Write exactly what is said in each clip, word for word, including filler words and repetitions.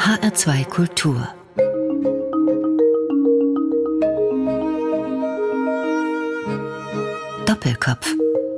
H R zwei Kultur. Doppelkopf.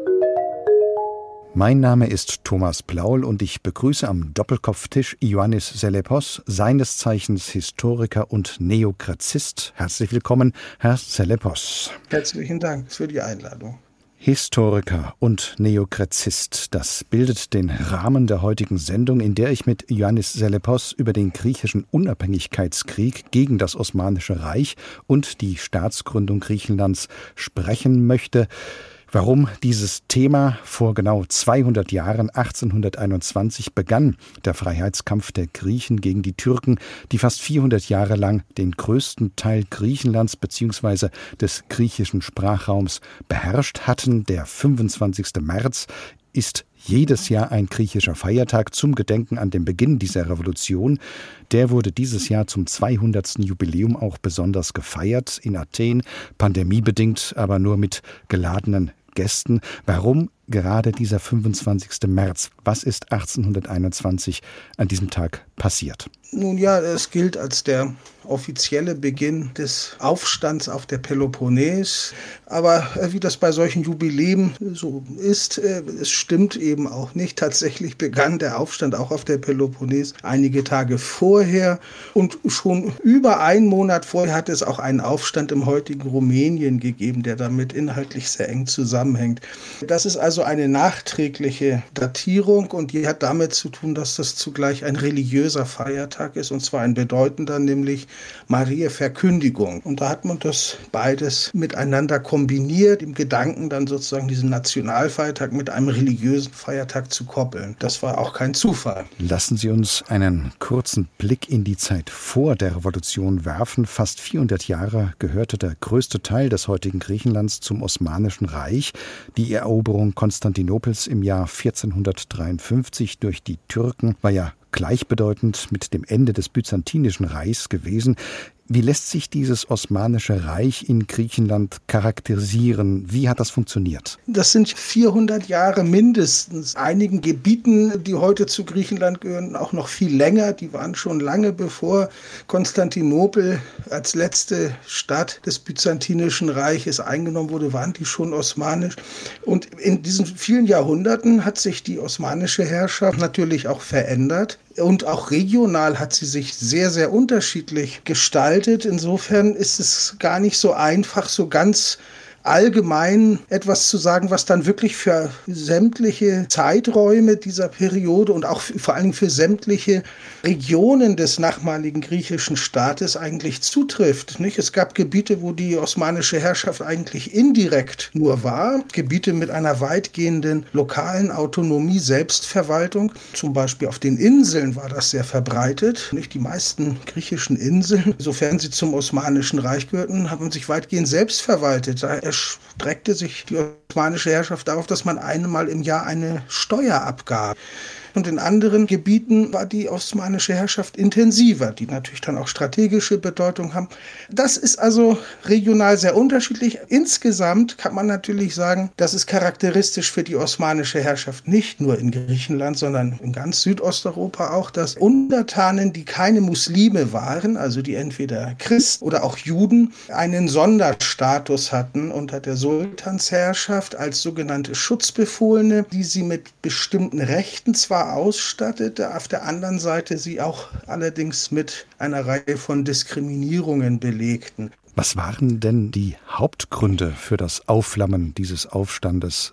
Mein Name ist Thomas Plaul und ich begrüße am Doppelkopftisch Ioannis Sellepos, seines Zeichens Historiker und Neokrazist. Herzlich willkommen, Herr Sellepos. Herzlichen Dank für die Einladung. Historiker und Neokrazist, das bildet den Rahmen der heutigen Sendung, in der ich mit Ioannis Sellepos über den griechischen Unabhängigkeitskrieg gegen das Osmanische Reich und die Staatsgründung Griechenlands sprechen möchte. Warum dieses Thema vor genau zweihundert Jahren, achtzehnhunderteinundzwanzig, begann, der Freiheitskampf der Griechen gegen die Türken, die fast vierhundert Jahre lang den größten Teil Griechenlands bzw. des griechischen Sprachraums beherrscht hatten. Der fünfundzwanzigster März ist jedes Jahr ein griechischer Feiertag zum Gedenken an den Beginn dieser Revolution. Der wurde dieses Jahr zum zweihundertsten Jubiläum auch besonders gefeiert in Athen, pandemiebedingt, aber nur mit geladenen Gästen. Warum gerade dieser fünfundzwanzigster März? Was ist achtzehnhunderteinundzwanzig an diesem Tag passiert? Nun ja, es gilt als der offizielle Beginn des Aufstands auf der Peloponnes. Aber wie das bei solchen Jubiläen so ist, es stimmt eben auch nicht. Tatsächlich begann der Aufstand auch auf der Peloponnes einige Tage vorher. Und schon über einen Monat vorher hat es auch einen Aufstand im heutigen Rumänien gegeben, der damit inhaltlich sehr eng zusammenhängt. Das ist also eine nachträgliche Datierung und die hat damit zu tun, dass das zugleich ein religiöser Feiertag ist, und zwar ein bedeutender, nämlich Mariä Verkündigung. Und da hat man das beides miteinander kombiniert, im Gedanken dann sozusagen diesen Nationalfeiertag mit einem religiösen Feiertag zu koppeln. Das war auch kein Zufall. Lassen Sie uns einen kurzen Blick in die Zeit vor der Revolution werfen. Fast vierhundert Jahre gehörte der größte Teil des heutigen Griechenlands zum Osmanischen Reich. Die Eroberung Konstantinopels im Jahr vierzehnhundertdreiundfünfzig durch die Türken war ja gleichbedeutend mit dem Ende des Byzantinischen Reichs gewesen. Wie lässt sich dieses Osmanische Reich in Griechenland charakterisieren? Wie hat das funktioniert? Das sind vierhundert Jahre mindestens. Einigen Gebieten, die heute zu Griechenland gehören, auch noch viel länger. Die waren schon lange bevor Konstantinopel als letzte Stadt des Byzantinischen Reiches eingenommen wurde, waren die schon osmanisch. Und in diesen vielen Jahrhunderten hat sich die osmanische Herrschaft natürlich auch verändert. Und auch regional hat sie sich sehr, sehr unterschiedlich gestaltet. Insofern ist es gar nicht so einfach, so ganz allgemein etwas zu sagen, was dann wirklich für sämtliche Zeiträume dieser Periode und auch vor allem für sämtliche Regionen des nachmaligen griechischen Staates eigentlich zutrifft. Nicht? Es gab Gebiete, wo die osmanische Herrschaft eigentlich indirekt nur war, Gebiete mit einer weitgehenden lokalen Autonomie, Selbstverwaltung. Zum Beispiel auf den Inseln war das sehr verbreitet. Nicht? Die meisten griechischen Inseln, sofern sie zum Osmanischen Reich gehörten, haben sich weitgehend selbst verwaltet. Da erstreckte sich die osmanische Herrschaft darauf, dass man einmal im Jahr eine Steuer abgab. Und in anderen Gebieten war die osmanische Herrschaft intensiver, die natürlich dann auch strategische Bedeutung haben. Das ist also regional sehr unterschiedlich. Insgesamt kann man natürlich sagen, das ist charakteristisch für die osmanische Herrschaft nicht nur in Griechenland, sondern in ganz Südosteuropa auch, dass Untertanen, die keine Muslime waren, also die entweder Christen oder auch Juden, einen Sonderstatus hatten unter der Sultansherrschaft als sogenannte Schutzbefohlene, die sie mit bestimmten Rechten zwar ausstattete, auf der anderen Seite sie auch allerdings mit einer Reihe von Diskriminierungen belegten. Was waren denn die Hauptgründe für das Aufflammen dieses Aufstandes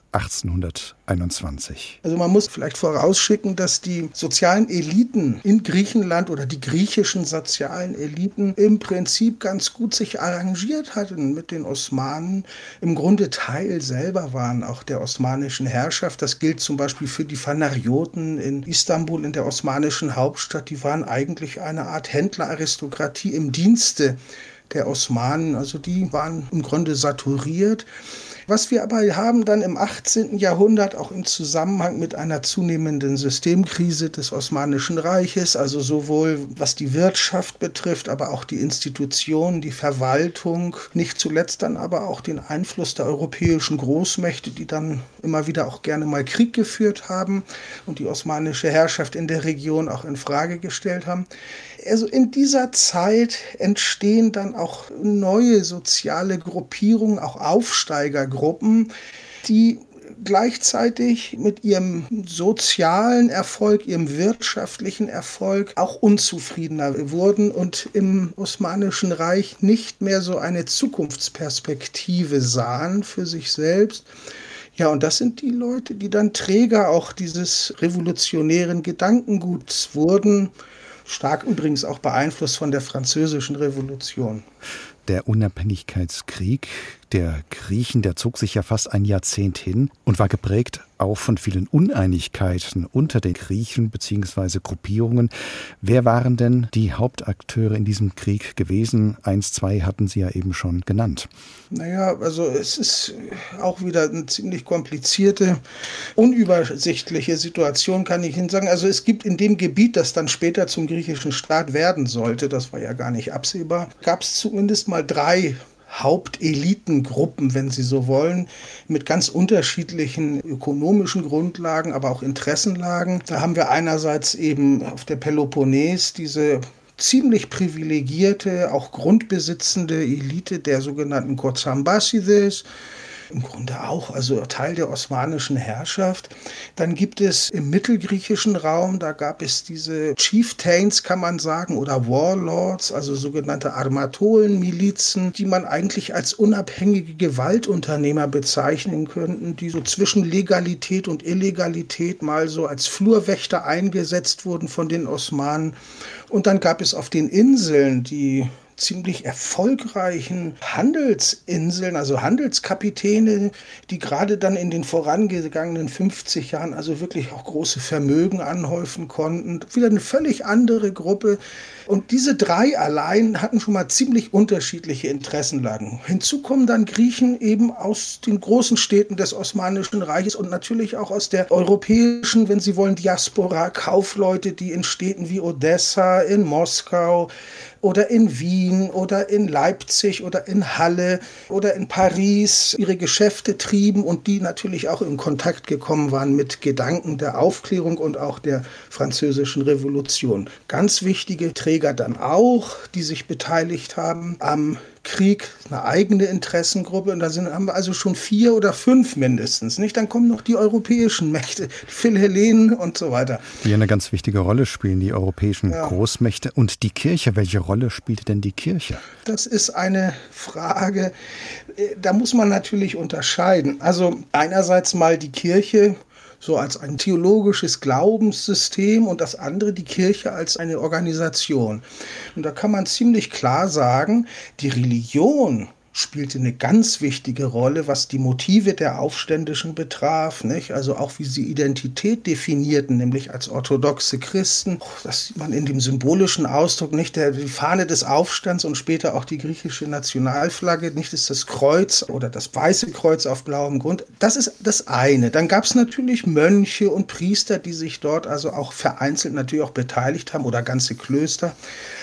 achtzehnhunderteinundzwanzig? Also man muss vielleicht vorausschicken, dass die sozialen Eliten in Griechenland oder die griechischen sozialen Eliten im Prinzip ganz gut sich arrangiert hatten mit den Osmanen. Im Grunde Teil selber waren auch der osmanischen Herrschaft. Das gilt zum Beispiel für die Phanarioten in Istanbul, in der osmanischen Hauptstadt. Die waren eigentlich eine Art Händleraristokratie im Dienste der Osmanen, also die waren im Grunde saturiert. Was wir aber haben dann im achtzehnten Jahrhundert auch im Zusammenhang mit einer zunehmenden Systemkrise des Osmanischen Reiches, also sowohl was die Wirtschaft betrifft, aber auch die Institutionen, die Verwaltung, nicht zuletzt dann aber auch den Einfluss der europäischen Großmächte, die dann immer wieder auch gerne mal Krieg geführt haben und die osmanische Herrschaft in der Region auch in Frage gestellt haben. Also in dieser Zeit entstehen dann auch neue soziale Gruppierungen, auch Aufsteigergruppen, die gleichzeitig mit ihrem sozialen Erfolg, ihrem wirtschaftlichen Erfolg auch unzufriedener wurden und im Osmanischen Reich nicht mehr so eine Zukunftsperspektive sahen für sich selbst. Ja, und das sind die Leute, die dann Träger auch dieses revolutionären Gedankenguts wurden, stark übrigens auch beeinflusst von der Französischen Revolution. Der Unabhängigkeitskrieg der Griechen, der zog sich ja fast ein Jahrzehnt hin und war geprägt auch von vielen Uneinigkeiten unter den Griechen bzw. Gruppierungen. Wer waren denn die Hauptakteure in diesem Krieg gewesen? Eins, zwei hatten Sie ja eben schon genannt. Naja, also es ist auch wieder eine ziemlich komplizierte, unübersichtliche Situation, kann ich Ihnen sagen. Also es gibt in dem Gebiet, das dann später zum griechischen Staat werden sollte, das war ja gar nicht absehbar, gab es zumindest mal drei Hauptelitengruppen, wenn Sie so wollen, mit ganz unterschiedlichen ökonomischen Grundlagen, aber auch Interessenlagen. Da haben wir einerseits eben auf der Peloponnes diese ziemlich privilegierte, auch grundbesitzende Elite der sogenannten Kozambasides, im Grunde auch, also Teil der osmanischen Herrschaft. Dann gibt es im mittelgriechischen Raum, da gab es diese Chieftains, kann man sagen, oder Warlords, also sogenannte Armatolen-Milizen, die man eigentlich als unabhängige Gewaltunternehmer bezeichnen könnten, die so zwischen Legalität und Illegalität mal so als Flurwächter eingesetzt wurden von den Osmanen. Und dann gab es auf den Inseln die ziemlich erfolgreichen Handelsinseln, also Handelskapitäne, die gerade dann in den vorangegangenen fünfzig Jahren also wirklich auch große Vermögen anhäufen konnten. Wieder eine völlig andere Gruppe. Und diese drei allein hatten schon mal ziemlich unterschiedliche Interessenlagen. Hinzu kommen dann Griechen eben aus den großen Städten des Osmanischen Reiches und natürlich auch aus der europäischen, wenn Sie wollen, Diaspora, Kaufleute, die in Städten wie Odessa, in Moskau oder in Wien oder in Leipzig oder in Halle oder in Paris ihre Geschäfte trieben und die natürlich auch in Kontakt gekommen waren mit Gedanken der Aufklärung und auch der Französischen Revolution. Ganz wichtige Träger dann auch, die sich beteiligt haben am Krieg, eine eigene Interessengruppe, und da sind, haben wir also schon vier oder fünf mindestens, nicht? Dann kommen noch die europäischen Mächte, die Philhellenen und so weiter. Die eine ganz wichtige Rolle spielen, die europäischen ja. Großmächte. Und die Kirche, welche Rolle spielte denn die Kirche? Das ist eine Frage, da muss man natürlich unterscheiden. Also einerseits mal die Kirche so als ein theologisches Glaubenssystem und das andere die Kirche als eine Organisation. Und da kann man ziemlich klar sagen, die Religion spielte eine ganz wichtige Rolle, was die Motive der Aufständischen betraf, nicht? Also auch wie sie Identität definierten, nämlich als orthodoxe Christen. Das sieht man in dem symbolischen Ausdruck, nicht? Der, die Fahne des Aufstands und später auch die griechische Nationalflagge, nicht ist das Kreuz oder das weiße Kreuz auf blauem Grund. Das ist das eine. Dann gab es natürlich Mönche und Priester, die sich dort also auch vereinzelt natürlich auch beteiligt haben oder ganze Klöster.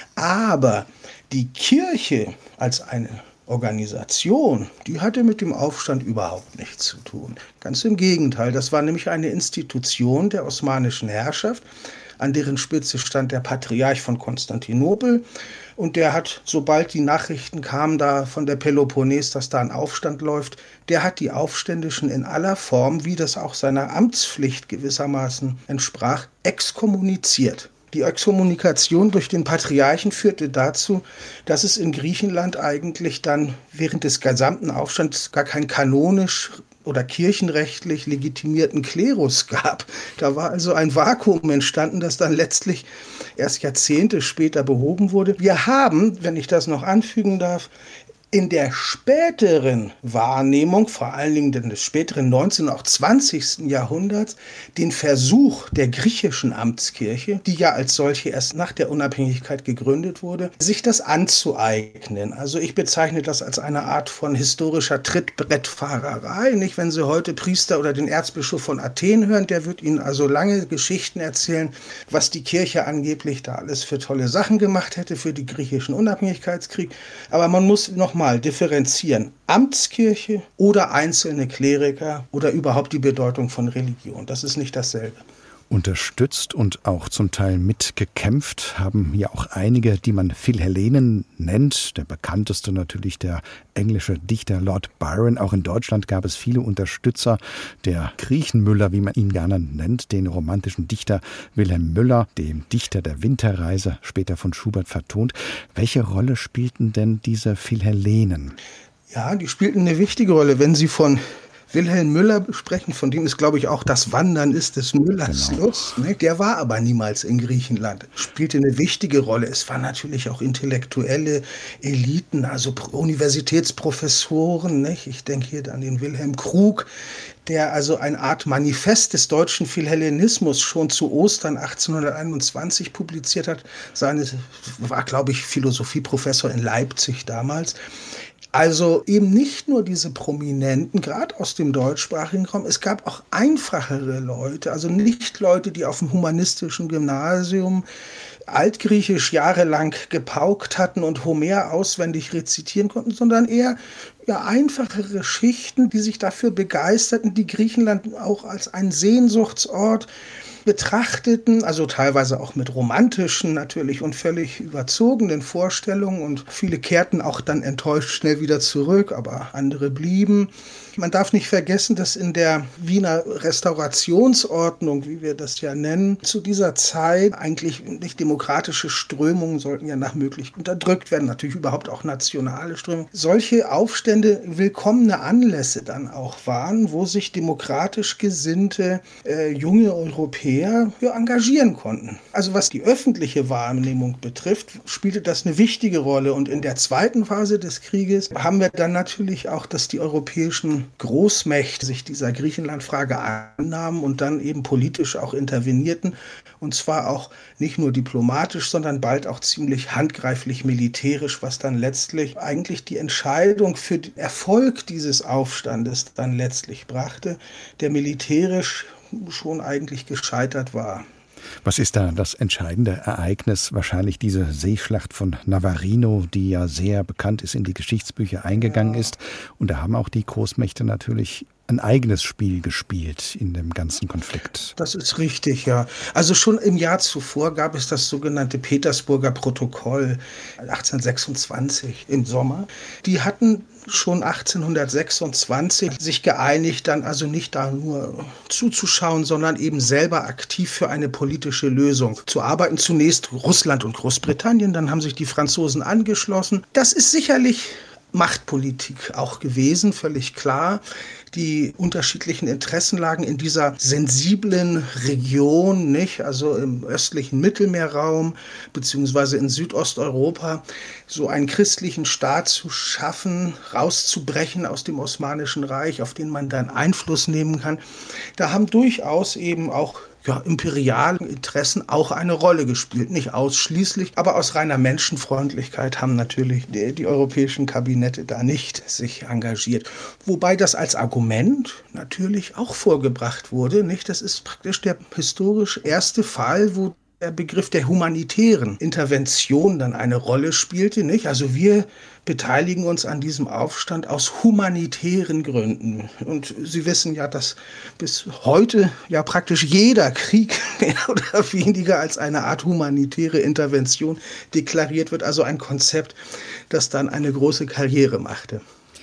Aber die Kirche als eine Organisation, die hatte mit dem Aufstand überhaupt nichts zu tun. Ganz im Gegenteil, das war nämlich eine Institution der osmanischen Herrschaft, an deren Spitze stand der Patriarch von Konstantinopel. Und der hat, sobald die Nachrichten kamen da von der Peloponnes, dass da ein Aufstand läuft, der hat die Aufständischen in aller Form, wie das auch seiner Amtspflicht gewissermaßen entsprach, exkommuniziert. Die Exkommunikation durch den Patriarchen führte dazu, dass es in Griechenland eigentlich dann während des gesamten Aufstands gar kein kanonisch oder kirchenrechtlich legitimierten Klerus gab. Da war also ein Vakuum entstanden, das dann letztlich erst Jahrzehnte später behoben wurde. Wir haben, wenn ich das noch anfügen darf, In der späteren Wahrnehmung, vor allen Dingen des späteren neunzehnten und auch zwanzigsten Jahrhunderts, den Versuch der griechischen Amtskirche, die ja als solche erst nach der Unabhängigkeit gegründet wurde, sich das anzueignen. Also ich bezeichne das als eine Art von historischer Trittbrettfahrerei. Nicht, wenn Sie heute Priester oder den Erzbischof von Athen hören, der wird Ihnen also lange Geschichten erzählen, was die Kirche angeblich da alles für tolle Sachen gemacht hätte für die griechischen Unabhängigkeitskrieg. Aber man muss noch mal differenzieren. Amtskirche oder einzelne Kleriker oder überhaupt die Bedeutung von Religion. Das ist nicht dasselbe. Unterstützt und auch zum Teil mitgekämpft haben ja auch einige, die man Philhellenen nennt. Der bekannteste natürlich der englische Dichter Lord Byron. Auch in Deutschland gab es viele Unterstützer. Der Griechenmüller, wie man ihn gerne nennt, den romantischen Dichter Wilhelm Müller, dem Dichter der Winterreise, später von Schubert vertont. Welche Rolle spielten denn diese Philhellenen? Ja, die spielten eine wichtige Rolle. Wenn Sie von Wilhelm Müller sprechen, von dem ist, glaube ich, auch das Wandern ist des Müllers genau. Lust. Ne? Der war aber niemals in Griechenland. Spielte eine wichtige Rolle. Es waren natürlich auch intellektuelle Eliten, also Universitätsprofessoren. Nicht? Ich denke hier an den Wilhelm Krug, der also eine Art Manifest des deutschen Philhellenismus schon zu Ostern achtzehnhunderteinundzwanzig publiziert hat. Seines war, glaube ich, Philosophieprofessor in Leipzig damals. Also eben nicht nur diese Prominenten, gerade aus dem deutschsprachigen Raum, es gab auch einfachere Leute, also nicht Leute, die auf dem humanistischen Gymnasium Altgriechisch jahrelang gepaukt hatten und Homer auswendig rezitieren konnten, sondern eher ja, einfachere Schichten, die sich dafür begeisterten, die Griechenland auch als einen Sehnsuchtsort betrachteten, also teilweise auch mit romantischen natürlich und völlig überzogenen Vorstellungen, und viele kehrten auch dann enttäuscht schnell wieder zurück, aber andere blieben. Man darf nicht vergessen, dass in der Wiener Restaurationsordnung, wie wir das ja nennen, zu dieser Zeit eigentlich nicht demokratische Strömungen sollten ja nach Möglichkeit unterdrückt werden, natürlich überhaupt auch nationale Strömungen. Solche Aufstände willkommene Anlässe dann auch waren, wo sich demokratisch gesinnte äh, junge Europäer ja, engagieren konnten. Also was die öffentliche Wahrnehmung betrifft, spielte das eine wichtige Rolle. Und in der zweiten Phase des Krieges haben wir dann natürlich auch, dass die europäischen Großmächte sich dieser Griechenlandfrage annahmen und dann eben politisch auch intervenierten. Und zwar auch nicht nur diplomatisch, sondern bald auch ziemlich handgreiflich militärisch, was dann letztlich eigentlich die Entscheidung für den Erfolg dieses Aufstandes dann letztlich brachte, der militärisch schon eigentlich gescheitert war. Was ist da das entscheidende Ereignis? Wahrscheinlich diese Seeschlacht von Navarino, die ja sehr bekannt ist, in die Geschichtsbücher eingegangen ja. ist. Und da haben auch die Großmächte natürlich ein eigenes Spiel gespielt in dem ganzen Konflikt. Das ist richtig, ja. Also schon im Jahr zuvor gab es das sogenannte Petersburger Protokoll achtzehnhundertsechsundzwanzig im Sommer. Die hatten schon achtzehnhundertsechsundzwanzig sich geeinigt, dann also nicht da nur zuzuschauen, sondern eben selber aktiv für eine politische Lösung zu arbeiten. Zunächst Russland und Großbritannien, dann haben sich die Franzosen angeschlossen. Das ist sicherlich Machtpolitik auch gewesen, völlig klar. Die unterschiedlichen Interessenlagen in dieser sensiblen Region, nicht, also im östlichen Mittelmeerraum beziehungsweise in Südosteuropa, so einen christlichen Staat zu schaffen, rauszubrechen aus dem Osmanischen Reich, auf den man dann Einfluss nehmen kann. Da haben durchaus eben auch ja, imperiale Interessen auch eine Rolle gespielt. Nicht ausschließlich, aber aus reiner Menschenfreundlichkeit haben natürlich die, die europäischen Kabinette da nicht sich engagiert. Wobei das als Argument natürlich auch vorgebracht wurde. Nicht? Das ist praktisch der historisch erste Fall, wo der Begriff der humanitären Intervention dann eine Rolle spielte. Nicht? Also wir beteiligen uns an diesem Aufstand aus humanitären Gründen. Und Sie wissen ja, dass bis heute ja praktisch jeder Krieg mehr oder weniger als eine Art humanitäre Intervention deklariert wird. Also ein Konzept, das dann eine große Karriere machte.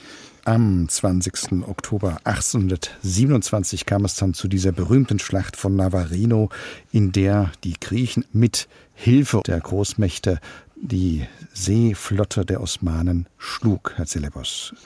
Am zwanzigsten Oktober achtzehnhundertsiebenundzwanzig kam es dann zu dieser berühmten Schlacht von Navarino, in der die Griechen mit Hilfe der Großmächte die Seeflotte der Osmanen schlug, Herr Zelebos.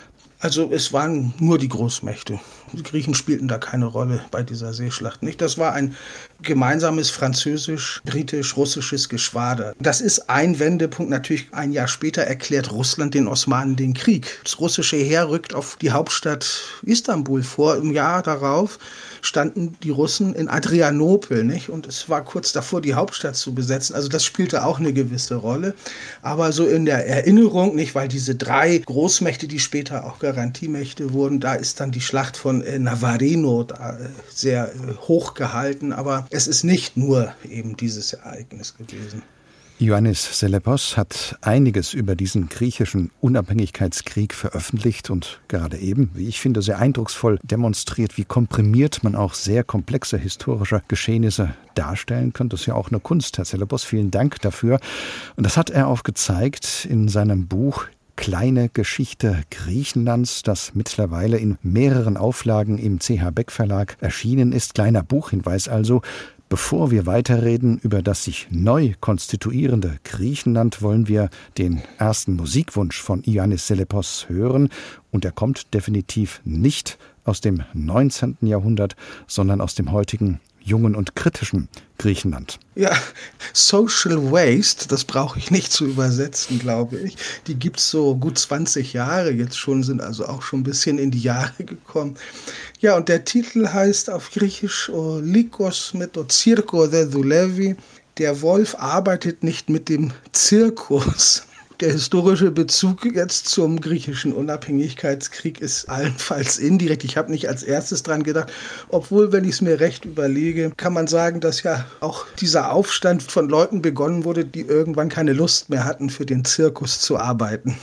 Also es waren nur die Großmächte. Die Griechen spielten da keine Rolle bei dieser Seeschlacht nicht. Das war ein gemeinsames französisch-britisch-russisches Geschwader. Das ist ein Wendepunkt. Natürlich ein Jahr später erklärt Russland den Osmanen den Krieg. Das russische Heer rückt auf die Hauptstadt Istanbul vor. Im Jahr darauf standen die Russen in Adrianopel, nicht? Und es war kurz davor, die Hauptstadt zu besetzen. Also das spielte auch eine gewisse Rolle. Aber so in der Erinnerung, nicht, weil diese drei Großmächte, die später auch Garantiemächte wurden, da ist dann die Schlacht von äh, Navarino da, äh, sehr äh, hoch gehalten. Aber es ist nicht nur eben dieses Ereignis gewesen. Ioannis Selepos hat einiges über diesen griechischen Unabhängigkeitskrieg veröffentlicht und gerade eben, wie ich finde, sehr eindrucksvoll demonstriert, wie komprimiert man auch sehr komplexe historische Geschehnisse darstellen kann. Das ist ja auch eine Kunst, Herr Selepos. Vielen Dank dafür. Und das hat er auch gezeigt in seinem Buch Kleine Geschichte Griechenlands, das mittlerweile in mehreren Auflagen im C H Beck Verlag erschienen ist. Kleiner Buchhinweis also. Bevor wir weiterreden über das sich neu konstituierende Griechenland, wollen wir den ersten Musikwunsch von Ioannis Selepos hören. Und er kommt definitiv nicht aus dem neunzehnten Jahrhundert, sondern aus dem heutigen jungen und kritischen Griechenland. Ja, Social Waste, das brauche ich nicht zu übersetzen, glaube ich. Die gibt es so gut zwanzig Jahre jetzt schon, sind also auch schon ein bisschen in die Jahre gekommen. Ja, und der Titel heißt auf Griechisch O Lycos met to Zirko de Doulevi. Der Wolf arbeitet nicht mit dem Zirkus. Der historische Bezug jetzt zum griechischen Unabhängigkeitskrieg ist allenfalls indirekt. Ich habe nicht als erstes dran gedacht, obwohl, wenn ich es mir recht überlege, kann man sagen, dass ja auch dieser Aufstand von Leuten begonnen wurde, die irgendwann keine Lust mehr hatten, für den Zirkus zu arbeiten.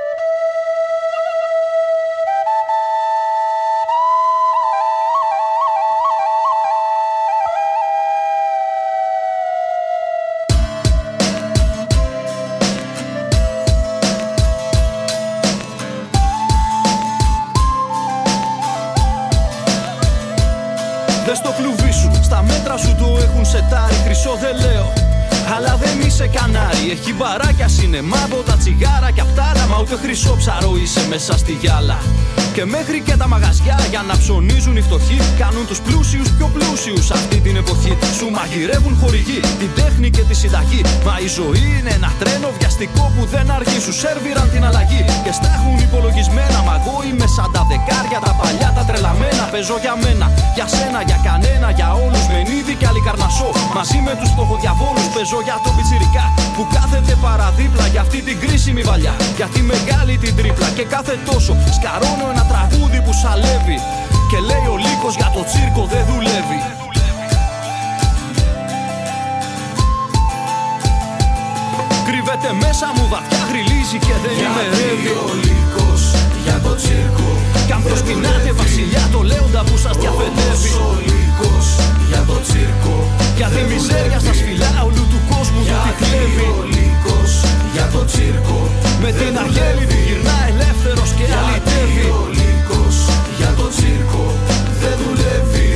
Δες το κλουβί σου, στα μέτρα σου το έχουν σετάρει. Χρυσό δεν λέω, αλλά δεν είσαι κανάρι. Έχει μπαράκια, σινεμά, από τα τσιγάρα και απ' τ' άλλα. Μα ούτε χρυσό ψαρό είσαι μέσα στη γυάλα. Και μέχρι και τα μαγαζιά για να ψωνίζουν οι φτωχοί κάνουν τους πλούσιους πιο πλούσιους αυτή την εποχή. Σου μαγειρεύουν χορηγοί, την τέχνη και τη συνταγή. Μα η ζωή είναι ένα τρένο βιαστικό που δεν αργεί. Σου σέρβιραν την αλλαγή και στα έχουν υπολογισμένα. Μα εγώ είμαι σαν τα δεκάρια, τα παλιά, τα τρελαμένα. Παίζω για μένα, για σένα, για κανένα, για όλους. Μενίδη και Αλικαρνασσό. Μαζί με τους φτωχοδιαβόλους παίζω για τον πιτσιρικά που κάθεται παραδίπλα για αυτή την κρίσιμη βαλιά. Για τη μεγάλη την τρίπλα και κάθε τόσο σκαρώνω ένα τραγούδι που σαλεύει. Και λέει ο Λύκος για το τσίρκο δεν δουλεύει. Κρύβεται μέσα μου βαθιά, γριλίζει και δεν ημερεύει. Ο Λύκος για το τσίρκο. Κι αν προσκυνάτε βασιλιά το λέοντα που σας διαφετεύει. Ο Λύκος για το τσίρκο. Για τη μιζέρια στα σφυλά όλου του κόσμου που τη κλέβει. Ο Λύκος για το τσίρκο. Με την αγέλη του γυρνά ελεύθερος και αλυτεύει. Ο Λύκος για το τσίρκο δεν δουλεύει.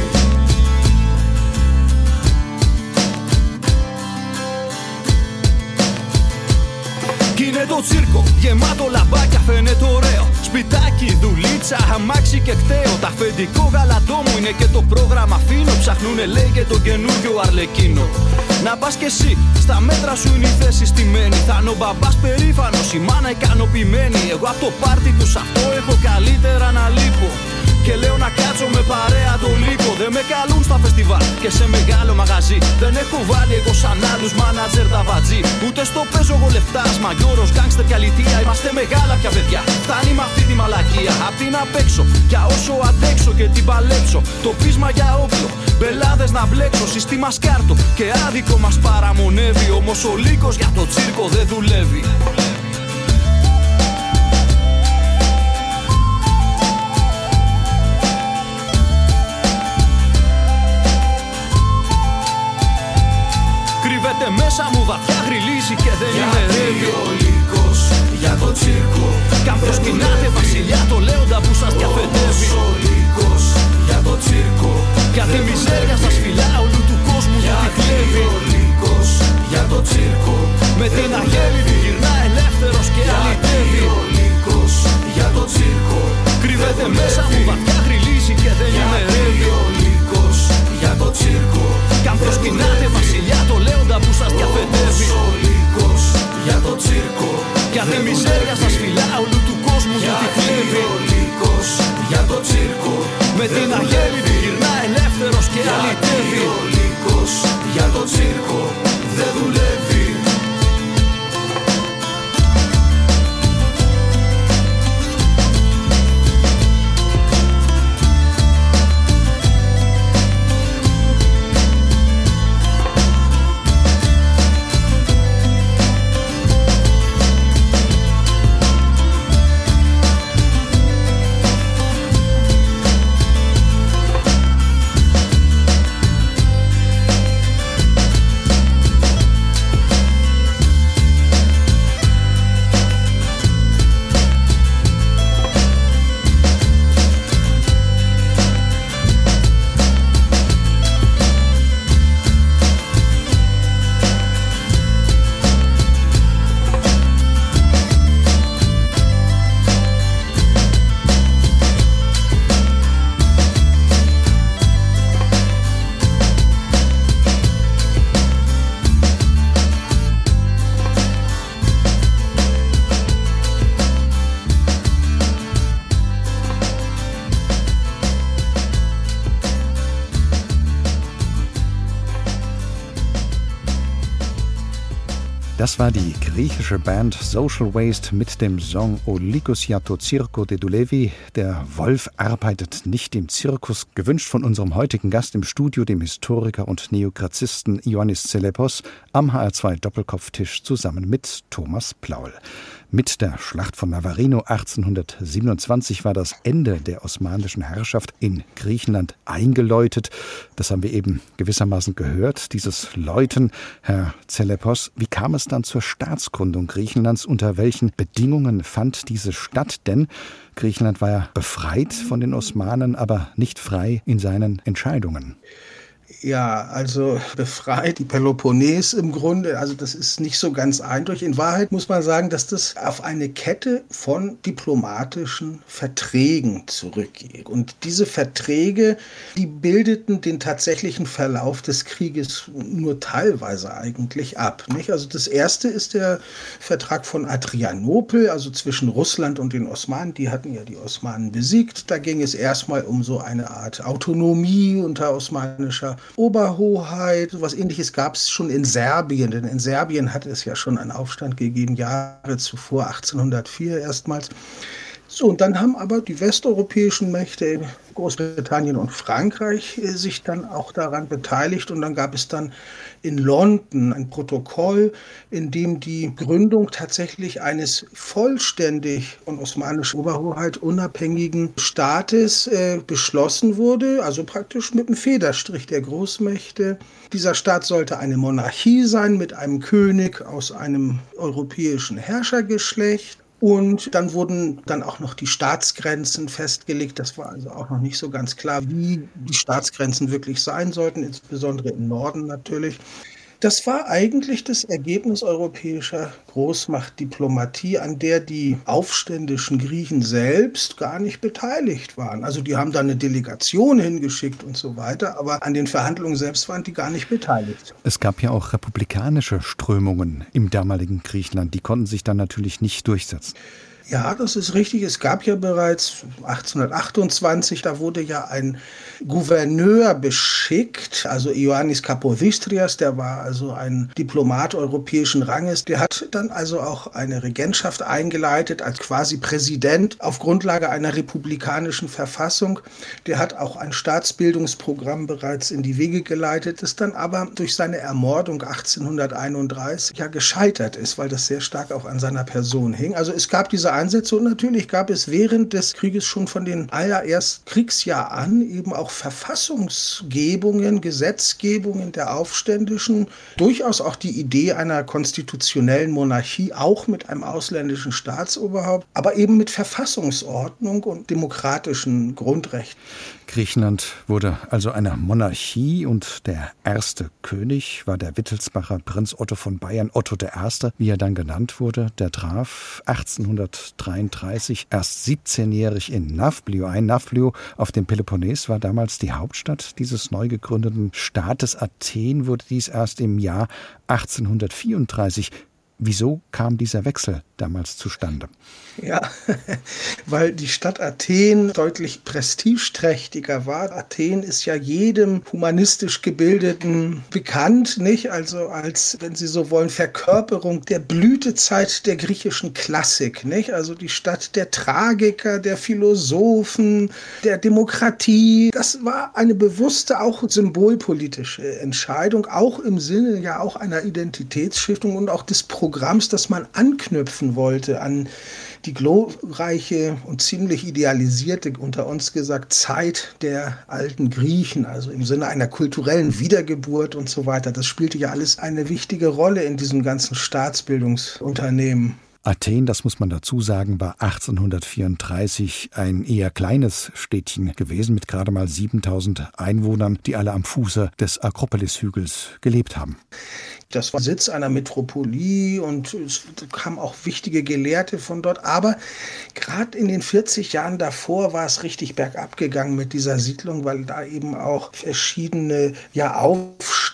Κι είναι το τσίρκο γεμάτο λαμπάκια, φαίνεται ωραίο. Σπιτάκι, δουλίτσα, αμάξι και κταίο. Τα αφεντικό γαλατό μου είναι και το πρόγραμμα φίνο. Ψαχνούνε λέει και τον καινούριο Αρλεκίνο. Να πας κι εσύ, στα μέτρα σου είναι η θέση στημένη. Θα είναι ο μπαμπάς περήφανος, η μάνα ικανοποιημένη. Εγώ απ' το πάρτι τους αυτό έχω καλύτερα να λείπω. Και λέω να κάτσω με παρέα το Λύκο. Δεν με καλούν στα φεστιβάλ και σε μεγάλο μαγαζί. Δεν έχω βάλει εγώ σαν άλλους μάνατζερ τα βατζή. Ούτε στο παίζω εγώ λεφτάς, μαγιόρος, γκάγκστερ και αλητία. Είμαστε μεγάλα πια παιδιά, φτάνει με αυτή τη μαλακία. Απ' την απ' έξω, για όσο αντέξω και την παλέψω. Το πείσμα για όπλο, μπελάδες να μπλέξω. Συστήμα σκάρτο και άδικο μας παραμονεύει. Όμως ο Λύκος για το τσίρκο δεν δουλεύει. Κρύβεται μέσα μου βαθιά, γριλίζει και δεν ημερεύει. Ο Λύκος για το τσίρκο. Κι αν προσκυνάτε βασιλιά το λέοντα που σας διαφετεύει. Ο Λύκος για το τσίρκο. Για τη μιζέρια στα σφυλά όλου του κόσμου που τη κλέβει. Ο Λύκος για το τσίρκο. Με την αγέλη του γυρνά ελεύθερος και αλυτεύει. Ο Λύκος για το τσίρκο. Das war die griechische Band Social Waste mit dem Song O Lycos ya to Zirko de Doulevi. Der Wolf arbeitet nicht im Zirkus. Gewünscht von unserem heutigen Gast im Studio, dem Historiker und Neograzisten Ioannis Tselepos, am H R zwei Doppelkopftisch zusammen mit Thomas Plaul. Mit der Schlacht von Navarino achtzehnhundertsiebenundzwanzig war das Ende der osmanischen Herrschaft in Griechenland eingeläutet. Das haben wir eben gewissermaßen gehört, dieses Läuten. Herr Tselepos, wie kam es dann zur Staatsgründung Griechenlands? Unter welchen Bedingungen fand diese statt? Denn Griechenland war ja befreit von den Osmanen, aber nicht frei in seinen Entscheidungen. Ja, also befreit die Peloponnes im Grunde, also das ist nicht so ganz eindeutig. In Wahrheit muss man sagen, dass das auf eine Kette von diplomatischen Verträgen zurückgeht. Und diese Verträge, die bildeten den tatsächlichen Verlauf des Krieges nur teilweise eigentlich ab, nicht? Also das erste ist der Vertrag von Adrianopel, also zwischen Russland und den Osmanen. Die hatten ja die Osmanen besiegt. Da ging es erstmal um so eine Art Autonomie unter osmanischer Oberhoheit. So was Ähnliches gab es schon in Serbien, denn in Serbien hatte es ja schon einen Aufstand gegeben, Jahre zuvor, achtzehnhundertvier erstmals. So, und dann haben aber die westeuropäischen Mächte, Großbritannien und Frankreich, sich dann auch daran beteiligt. Und dann gab es dann in London ein Protokoll, in dem die Gründung tatsächlich eines vollständig von osmanischer Oberhoheit unabhängigen Staates äh, beschlossen wurde, also praktisch mit dem Federstrich der Großmächte. Dieser Staat sollte eine Monarchie sein mit einem König aus einem europäischen Herrschergeschlecht. Und dann wurden dann auch noch die Staatsgrenzen festgelegt. Das war also auch noch nicht so ganz klar, wie die Staatsgrenzen wirklich sein sollten, insbesondere im Norden natürlich. Das war eigentlich das Ergebnis europäischer Großmachtdiplomatie, an der die aufständischen Griechen selbst gar nicht beteiligt waren. Also die haben da eine Delegation hingeschickt und so weiter, aber an den Verhandlungen selbst waren die gar nicht beteiligt. Es gab ja auch republikanische Strömungen im damaligen Griechenland. Die konnten sich dann natürlich nicht durchsetzen. Ja, das ist richtig. Es gab ja bereits achtzehnhundertachtundzwanzig, da wurde ja ein Gouverneur beschickt, also Ioannis Kapodistrias, der war also ein Diplomat europäischen Ranges. Der hat dann also auch eine Regentschaft eingeleitet als quasi Präsident auf Grundlage einer republikanischen Verfassung. Der hat auch ein Staatsbildungsprogramm bereits in die Wege geleitet, das dann aber durch seine Ermordung achtzehnhunderteinunddreißig ja gescheitert ist, weil das sehr stark auch an seiner Person hing. Also es gab diese Einsätze und natürlich gab es während des Krieges schon von den allerersten Kriegsjahr an eben auch Verfassungsgebungen, Gesetzgebungen der Aufständischen, durchaus auch die Idee einer konstitutionellen Monarchie, auch mit einem ausländischen Staatsoberhaupt, aber eben mit Verfassungsordnung und demokratischen Grundrechten. Griechenland wurde also eine Monarchie und der erste König war der Wittelsbacher Prinz Otto von Bayern, Otto der Erste, wie er dann genannt wurde. Der traf achtzehnhundertdreiunddreißig erst siebzehnjährig in Nafplio ein. Nafplio auf dem Peloponnes war damals die Hauptstadt dieses neu gegründeten Staates. Athen wurde dies erst im Jahr achtzehnhundertvierunddreißig. Wieso kam dieser Wechsel damals zustande? Ja, weil die Stadt Athen deutlich prestigeträchtiger war. Athen ist ja jedem humanistisch Gebildeten bekannt, nicht? Also als, wenn Sie so wollen, Verkörperung der Blütezeit der griechischen Klassik, nicht? Also die Stadt der Tragiker, der Philosophen, der Demokratie. Das war eine bewusste, auch symbolpolitische Entscheidung, auch im Sinne ja auch einer Identitätsstiftung und auch des Programms, das man anknüpfen wollte an die glorreiche und ziemlich idealisierte, unter uns gesagt, Zeit der alten Griechen, also im Sinne einer kulturellen Wiedergeburt und so weiter. Das spielte ja alles eine wichtige Rolle in diesem ganzen Staatsbildungsunternehmen. Athen, das muss man dazu sagen, war achtzehnhundertvierunddreißig ein eher kleines Städtchen gewesen mit gerade mal siebentausend Einwohnern, die alle am Fuße des Akropolishügels gelebt haben. Das war Sitz einer Metropolie und es kamen auch wichtige Gelehrte von dort. Aber gerade in den vierzig Jahren davor war es richtig bergab gegangen mit dieser Siedlung, weil da eben auch verschiedene ja, Aufstände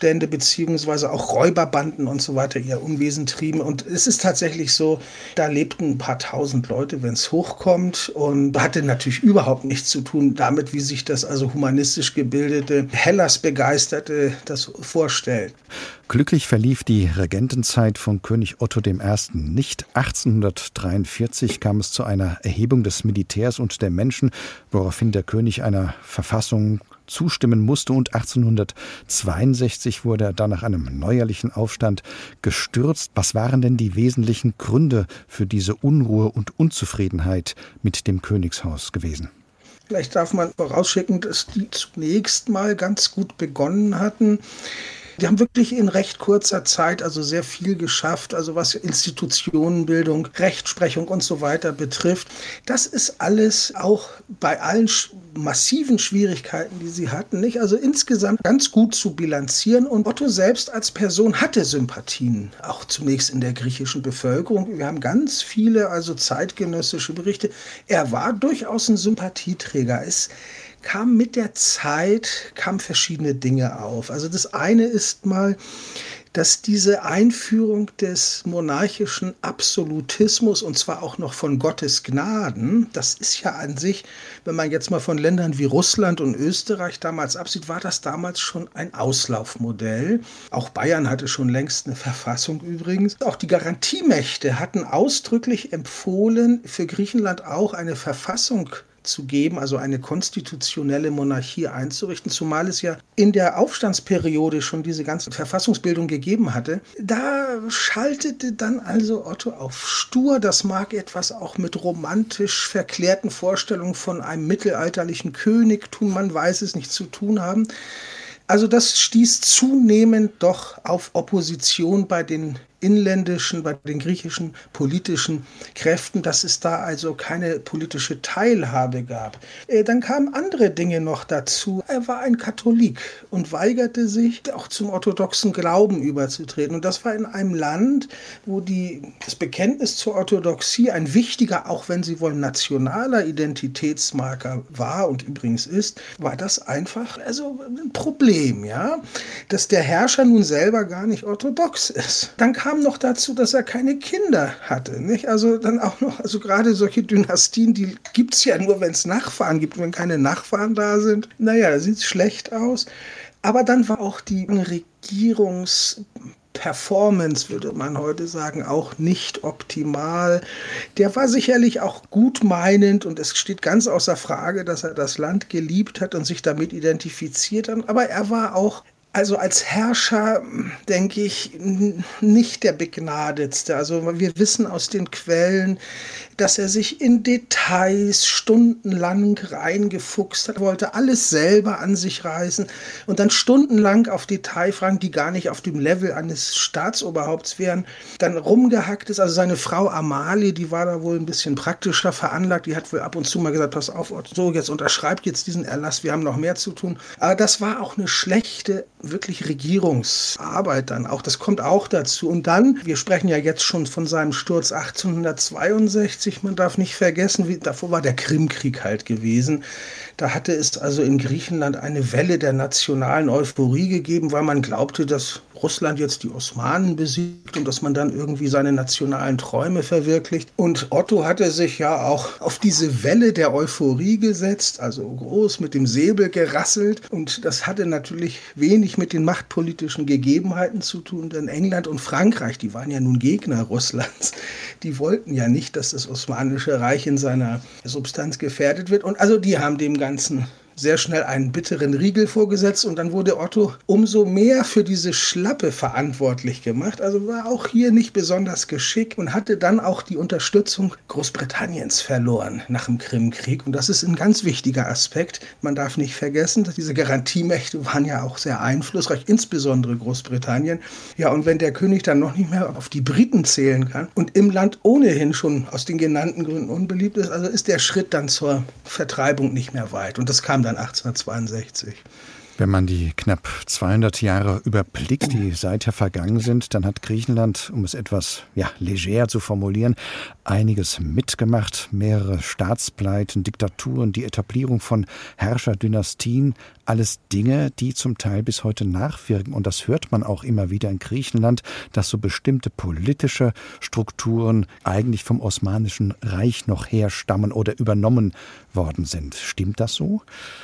Aufstände beziehungsweise auch Räuberbanden und so weiter ihr Unwesen trieben. Und es ist tatsächlich so, da lebten ein paar tausend Leute, wenn es hochkommt, und hatte natürlich überhaupt nichts zu tun damit, wie sich das also humanistisch gebildete Hellas-Begeisterte das vorstellt. Glücklich verlief die Regentenzeit von König Otto der Erste nicht. achtzehnhundertdreiundvierzig kam es zu einer Erhebung des Militärs und der Menschen, woraufhin der König einer Verfassung zustimmen musste, und achtzehnhundertzweiundsechzig wurde er dann nach einem neuerlichen Aufstand gestürzt. Was waren denn die wesentlichen Gründe für diese Unruhe und Unzufriedenheit mit dem Königshaus gewesen? Vielleicht darf man vorausschicken, dass die zunächst mal ganz gut begonnen hatten. Die haben wirklich in recht kurzer Zeit also sehr viel geschafft, also was Institutionenbildung, Rechtsprechung und so weiter betrifft. Das ist alles auch bei allen massiven Schwierigkeiten, die sie hatten, nicht? Also insgesamt ganz gut zu bilanzieren. Und Otto selbst als Person hatte Sympathien, auch zunächst in der griechischen Bevölkerung. Wir haben ganz viele also zeitgenössische Berichte. Er war durchaus ein Sympathieträger. Es kam mit der Zeit, kamen verschiedene Dinge auf. Also das eine ist mal, dass diese Einführung des monarchischen Absolutismus, und zwar auch noch von Gottes Gnaden, das ist ja an sich, wenn man jetzt mal von Ländern wie Russland und Österreich damals absieht, war das damals schon ein Auslaufmodell. Auch Bayern hatte schon längst eine Verfassung übrigens. Auch die Garantiemächte hatten ausdrücklich empfohlen, für Griechenland auch eine Verfassung zu geben, also eine konstitutionelle Monarchie einzurichten, zumal es ja in der Aufstandsperiode schon diese ganze Verfassungsbildung gegeben hatte. Da schaltete dann also Otto auf stur. Das mag etwas auch mit romantisch verklärten Vorstellungen von einem mittelalterlichen Königtum, man weiß es nicht, zu tun haben. Also das stieß zunehmend doch auf Opposition bei den inländischen, bei den griechischen politischen Kräften, dass es da also keine politische Teilhabe gab. Dann kamen andere Dinge noch dazu. Er war ein Katholik und weigerte sich, auch zum orthodoxen Glauben überzutreten. Und das war in einem Land, wo die, das Bekenntnis zur Orthodoxie ein wichtiger, auch wenn Sie wollen, nationaler Identitätsmarker war und übrigens ist, war das einfach also ein Problem, ja, dass der Herrscher nun selber gar nicht orthodox ist. Dann kam noch dazu, dass er keine Kinder hatte, nicht? Also dann auch noch, also gerade solche Dynastien, die gibt es ja nur, wenn es Nachfahren gibt. Wenn keine Nachfahren da sind, naja, da sieht es schlecht aus. Aber dann war auch die Regierungsperformance, würde man heute sagen, auch nicht optimal. Der war sicherlich auch gutmeinend und es steht ganz außer Frage, dass er das Land geliebt hat und sich damit identifiziert hat. Aber er war auch, also als Herrscher, denke ich, nicht der Begnadetste. Also wir wissen aus den Quellen, dass er sich in Details stundenlang reingefuchst hat, wollte alles selber an sich reißen und dann stundenlang auf Detailfragen, die gar nicht auf dem Level eines Staatsoberhaupts wären, dann rumgehackt ist. Also seine Frau Amalie, die war da wohl ein bisschen praktischer veranlagt, die hat wohl ab und zu mal gesagt, pass auf, so jetzt unterschreibt jetzt diesen Erlass, wir haben noch mehr zu tun. Aber das war auch eine schlechte, wirklich Regierungsarbeit dann auch, das kommt auch dazu. Und dann, wir sprechen ja jetzt schon von seinem Sturz achtzehnhundertzweiundsechzig, man darf nicht vergessen, wie, davor war der Krimkrieg halt gewesen. Da hatte es also in Griechenland eine Welle der nationalen Euphorie gegeben, weil man glaubte, dass Russland jetzt die Osmanen besiegt und dass man dann irgendwie seine nationalen Träume verwirklicht. Und Otto hatte sich ja auch auf diese Welle der Euphorie gesetzt, also groß mit dem Säbel gerasselt. Und das hatte natürlich wenig mit den machtpolitischen Gegebenheiten zu tun, denn England und Frankreich, die waren ja nun Gegner Russlands, die wollten ja nicht, dass das Osmanische Reich in seiner Substanz gefährdet wird. Und also die haben dem Ganzen sehr schnell einen bitteren Riegel vorgesetzt und dann wurde Otto umso mehr für diese Schlappe verantwortlich gemacht. Also war auch hier nicht besonders geschickt und hatte dann auch die Unterstützung Großbritanniens verloren nach dem Krimkrieg. Und das ist ein ganz wichtiger Aspekt. Man darf nicht vergessen, dass diese Garantiemächte waren ja auch sehr einflussreich, insbesondere Großbritannien. Ja, und wenn der König dann noch nicht mehr auf die Briten zählen kann und im Land ohnehin schon aus den genannten Gründen unbeliebt ist, also ist der Schritt dann zur Vertreibung nicht mehr weit. Und das kam dann achtzehnhundertzweiundsechzig. Wenn man die knapp zweihundert Jahre überblickt, die seither vergangen sind, dann hat Griechenland, um es etwas ja, leger zu formulieren, einiges mitgemacht. Mehrere Staatspleiten, Diktaturen, die Etablierung von Herrscherdynastien, alles Dinge, die zum Teil bis heute nachwirken. Und das hört man auch immer wieder in Griechenland, dass so bestimmte politische Strukturen eigentlich vom Osmanischen Reich noch herstammen oder übernommen worden sind. Stimmt das so?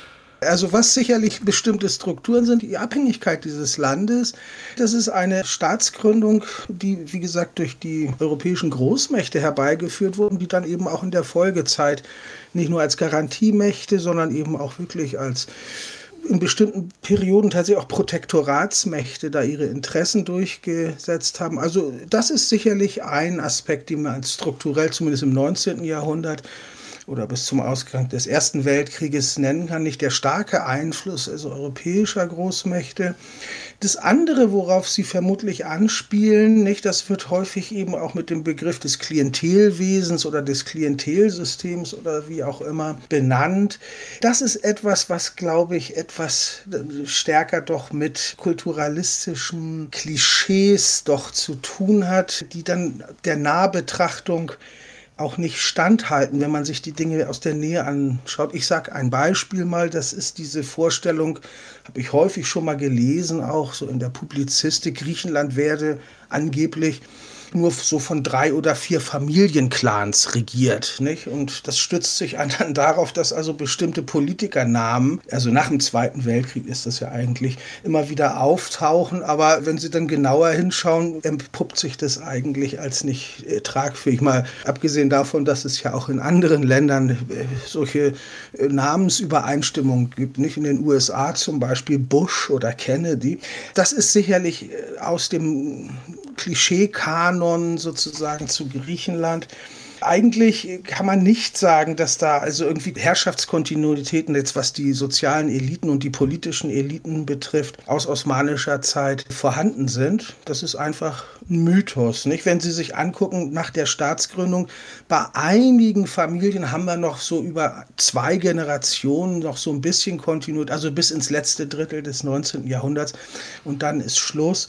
Also was sicherlich bestimmte Strukturen sind, die Abhängigkeit dieses Landes, das ist eine Staatsgründung, die, wie gesagt, durch die europäischen Großmächte herbeigeführt wurden, die dann eben auch in der Folgezeit nicht nur als Garantiemächte, sondern eben auch wirklich als in bestimmten Perioden tatsächlich auch Protektoratsmächte da ihre Interessen durchgesetzt haben. Also das ist sicherlich ein Aspekt, den man als strukturell zumindest im neunzehnten Jahrhundert oder bis zum Ausgang des Ersten Weltkrieges nennen kann, nicht der starke Einfluss also europäischer Großmächte. Das andere, worauf Sie vermutlich anspielen, nicht, das wird häufig eben auch mit dem Begriff des Klientelwesens oder des Klientelsystems oder wie auch immer benannt. Das ist etwas, was, glaube ich, etwas stärker doch mit kulturalistischen Klischees doch zu tun hat, die dann der Nahbetrachtung auch nicht standhalten, wenn man sich die Dinge aus der Nähe anschaut. Ich sage ein Beispiel mal, das ist diese Vorstellung, habe ich häufig schon mal gelesen, auch so in der Publizistik, Griechenland werde angeblich nur so von drei oder vier Familienclans regiert, nicht? Und das stützt sich dann darauf, dass also bestimmte Politikernamen, also nach dem Zweiten Weltkrieg ist das ja eigentlich, immer wieder auftauchen. Aber wenn Sie dann genauer hinschauen, entpuppt sich das eigentlich als nicht äh, tragfähig. Mal abgesehen davon, dass es ja auch in anderen Ländern äh, solche äh, Namensübereinstimmungen gibt, nicht? In den U S A zum Beispiel Bush oder Kennedy. Das ist sicherlich äh, aus dem Klischee-Kanon sozusagen zu Griechenland. Eigentlich kann man nicht sagen, dass da also irgendwie Herrschaftskontinuitäten, jetzt was die sozialen Eliten und die politischen Eliten betrifft, aus osmanischer Zeit vorhanden sind. Das ist einfach ein Mythos, nicht? Wenn Sie sich angucken, nach der Staatsgründung, bei einigen Familien haben wir noch so über zwei Generationen noch so ein bisschen Kontinuität, also bis ins letzte Drittel des neunzehnten Jahrhunderts und dann ist Schluss.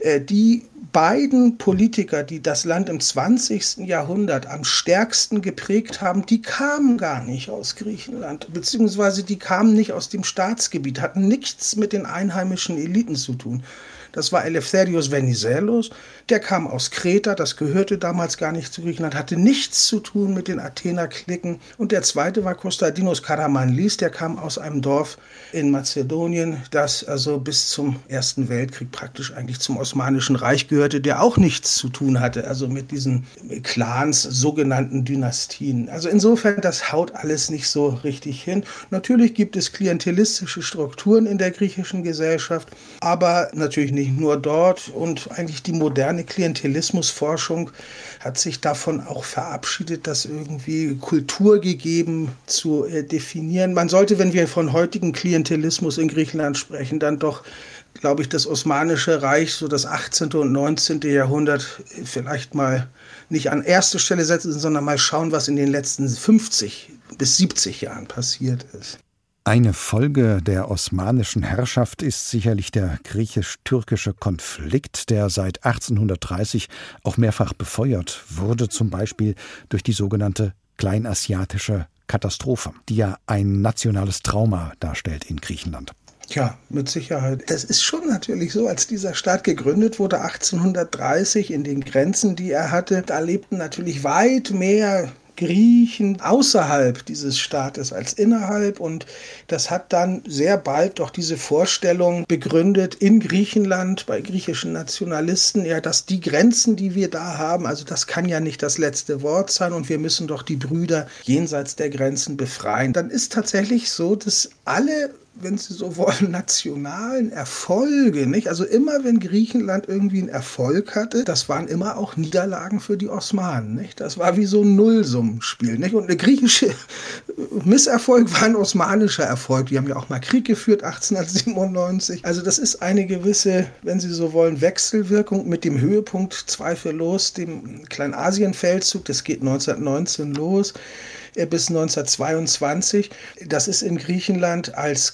Die beiden Politiker, die das Land im zwanzigsten Jahrhundert am stärksten geprägt haben, die kamen gar nicht aus Griechenland, beziehungsweise die kamen nicht aus dem Staatsgebiet, hatten nichts mit den einheimischen Eliten zu tun. Das war Eleftherios Venizelos, der kam aus Kreta, das gehörte damals gar nicht zu Griechenland, hatte nichts zu tun mit den Athener-Klicken. Und der zweite war Konstantinos Karamanlis, der kam aus einem Dorf in Mazedonien, das also bis zum Ersten Weltkrieg praktisch eigentlich zum Osmanischen Reich gehörte, der auch nichts zu tun hatte, also mit diesen Clans, sogenannten Dynastien. Also insofern, das haut alles nicht so richtig hin. Natürlich gibt es klientelistische Strukturen in der griechischen Gesellschaft, aber natürlich nicht nur dort und eigentlich die moderne Klientelismusforschung hat sich davon auch verabschiedet, das irgendwie kulturgegeben zu äh, definieren. Man sollte, wenn wir von heutigen Klientelismus in Griechenland sprechen, dann doch, glaube ich, das Osmanische Reich, so das achtzehnte und neunzehnte Jahrhundert vielleicht mal nicht an erste Stelle setzen, sondern mal schauen, was in den letzten fünfzig bis siebzig Jahren passiert ist. Eine Folge der osmanischen Herrschaft ist sicherlich der griechisch-türkische Konflikt, der seit achtzehnhundertdreißig auch mehrfach befeuert wurde, zum Beispiel durch die sogenannte kleinasiatische Katastrophe, die ja ein nationales Trauma darstellt in Griechenland. Ja, mit Sicherheit. Es ist schon natürlich so, als dieser Staat gegründet wurde, achtzehnhundertdreißig, in den Grenzen, die er hatte, da lebten natürlich weit mehr Griechen außerhalb dieses Staates als innerhalb und das hat dann sehr bald doch diese Vorstellung begründet in Griechenland bei griechischen Nationalisten, ja, dass die Grenzen, die wir da haben, also das kann ja nicht das letzte Wort sein und wir müssen doch die Brüder jenseits der Grenzen befreien. Dann ist tatsächlich so, dass alle, wenn Sie so wollen, nationalen Erfolge, nicht? Also immer, wenn Griechenland irgendwie einen Erfolg hatte, das waren immer auch Niederlagen für die Osmanen, nicht? Das war wie so ein Nullsummenspiel, nicht? Und der griechische Misserfolg war ein osmanischer Erfolg. Die haben ja auch mal Krieg geführt, achtzehnhundertsiebenundneunzig. Also das ist eine gewisse, wenn Sie so wollen, Wechselwirkung mit dem Höhepunkt zweifellos, dem Kleinasienfeldzug, das geht neunzehnhundertneunzehn los bis neunzehnhundertzweiundzwanzig. Das ist in Griechenland als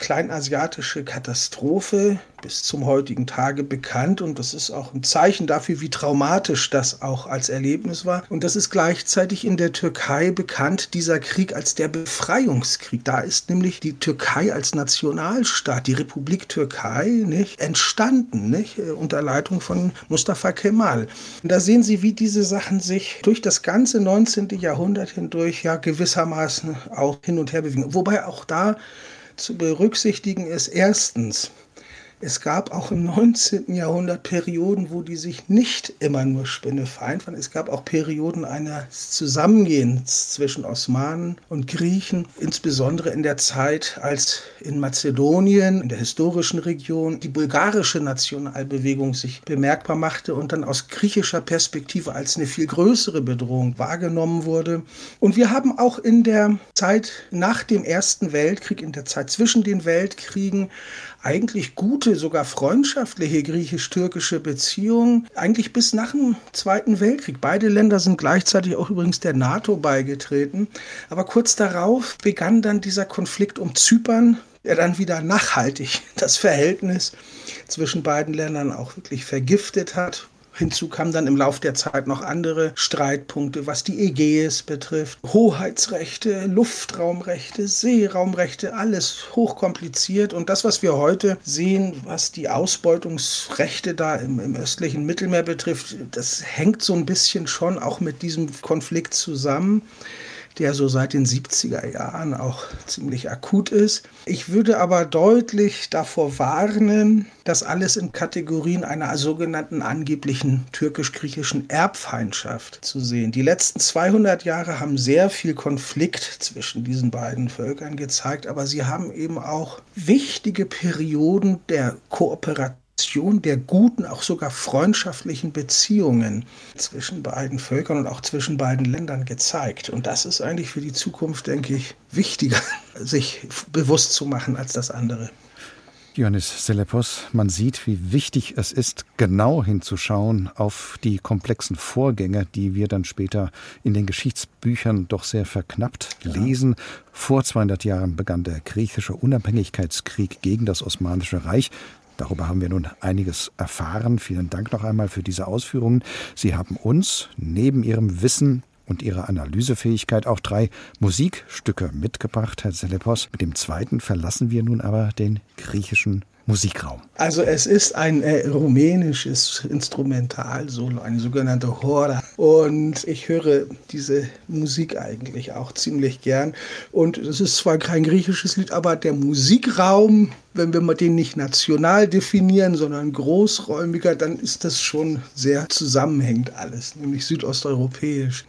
kleinasiatische Katastrophe bis zum heutigen Tage bekannt und das ist auch ein Zeichen dafür, wie traumatisch das auch als Erlebnis war. Und das ist gleichzeitig in der Türkei bekannt, dieser Krieg als der Befreiungskrieg. Da ist nämlich die Türkei als Nationalstaat, die Republik Türkei, nicht, entstanden, nicht, unter Leitung von Mustafa Kemal. Und da sehen Sie, wie diese Sachen sich durch das ganze neunzehnte Jahrhundert hindurch ja gewissermaßen auch hin und her bewegen. Wobei auch da zu berücksichtigen ist, erstens, es gab auch im neunzehnten Jahrhundert Perioden, wo die sich nicht immer nur spinnefeind waren. Es gab auch Perioden eines Zusammengehens zwischen Osmanen und Griechen, insbesondere in der Zeit, als in Mazedonien, in der historischen Region, die bulgarische Nationalbewegung sich bemerkbar machte und dann aus griechischer Perspektive als eine viel größere Bedrohung wahrgenommen wurde. Und wir haben auch in der Zeit nach dem Ersten Weltkrieg, in der Zeit zwischen den Weltkriegen, eigentlich gute, sogar freundschaftliche griechisch-türkische Beziehungen, eigentlich bis nach dem Zweiten Weltkrieg. Beide Länder sind gleichzeitig auch übrigens der NATO beigetreten. Aber kurz darauf begann dann dieser Konflikt um Zypern, der dann wieder nachhaltig das Verhältnis zwischen beiden Ländern auch wirklich vergiftet hat. Hinzu kamen dann im Laufe der Zeit noch andere Streitpunkte, was die Ägäis betrifft. Hoheitsrechte, Luftraumrechte, Seeraumrechte, alles hochkompliziert. Und das, was wir heute sehen, was die Ausbeutungsrechte da im, im östlichen Mittelmeer betrifft, das hängt so ein bisschen schon auch mit diesem Konflikt zusammen, der so seit den siebziger Jahren auch ziemlich akut ist. Ich würde aber deutlich davor warnen, das alles in Kategorien einer sogenannten angeblichen türkisch-griechischen Erbfeindschaft zu sehen. Die letzten zweihundert Jahre haben sehr viel Konflikt zwischen diesen beiden Völkern gezeigt, aber sie haben eben auch wichtige Perioden der Kooperation, der guten, auch sogar freundschaftlichen Beziehungen zwischen beiden Völkern und auch zwischen beiden Ländern gezeigt. Und das ist eigentlich für die Zukunft, denke ich, wichtiger, sich bewusst zu machen als das andere. Ioannis Seleppos, man sieht, wie wichtig es ist, genau hinzuschauen auf die komplexen Vorgänge, die wir dann später in den Geschichtsbüchern doch sehr verknappt lesen. Ja. Vor zweihundert Jahren begann der griechische Unabhängigkeitskrieg gegen das Osmanische Reich. Darüber haben wir nun einiges erfahren. Vielen Dank noch einmal für diese Ausführungen. Sie haben uns neben Ihrem Wissen und Ihrer Analysefähigkeit auch drei Musikstücke mitgebracht, Herr Seleppos. Mit dem zweiten verlassen wir nun aber den griechischen Musikraum. Also es ist ein äh, rumänisches Instrumentalsolo, eine sogenannte Hora. Und ich höre diese Musik eigentlich auch ziemlich gern. Und es ist zwar kein griechisches Lied, aber der Musikraum, wenn wir mal den nicht national definieren, sondern großräumiger, dann ist das schon sehr zusammenhängend alles, nämlich südosteuropäisch.